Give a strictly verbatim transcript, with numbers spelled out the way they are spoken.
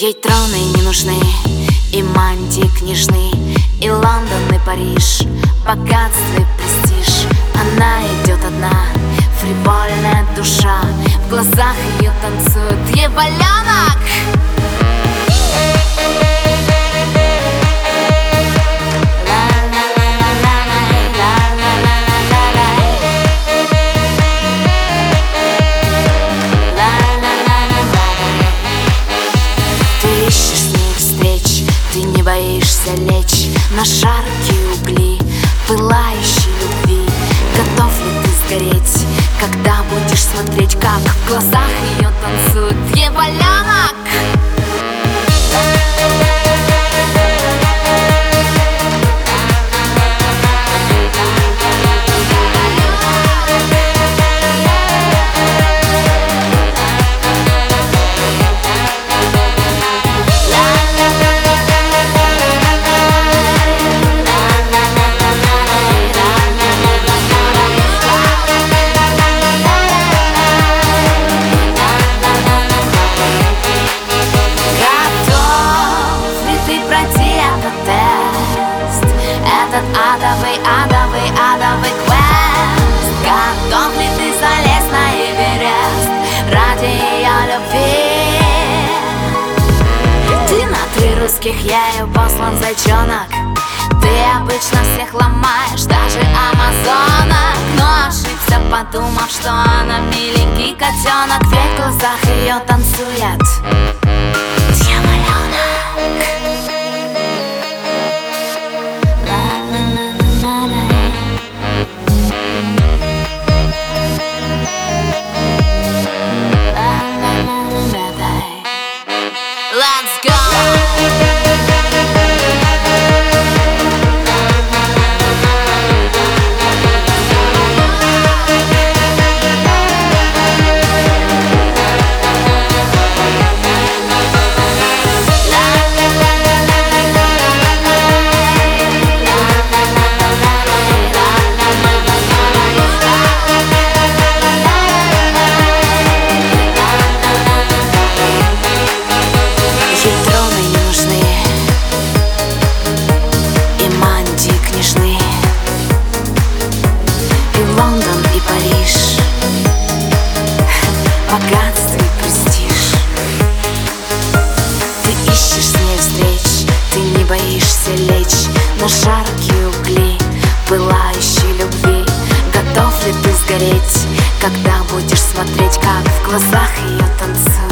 Ей троны не нужны, и мантии княжны, и Лондон, и Париж, богатство и престиж. Она идет одна, фривольная душа, в глазах ее танцует дьяволенок. Ты не боишься лечь на жаркие угли пылающей любви. Готов ли ты сгореть, когда будешь смотреть, как в глазах ее танцует дьяволенок? Адовый, адовый, адовый квест. Готов ли ты залезть на Эверест ради ее любви? Ты на три русских, ею послан зайчонок. Ты обычно всех ломаешь, даже амазонок. Но ошибся, подумав, что она миленький котенок, ведь в глазах ее танцует дьяволенок. Let's go! Лондон и Париж, богатство и престиж. Ты ищешь с ней встреч, ты не боишься лечь на жаркие угли пылающей любви. Готов ли ты сгореть, когда будешь смотреть, как в глазах ее танцует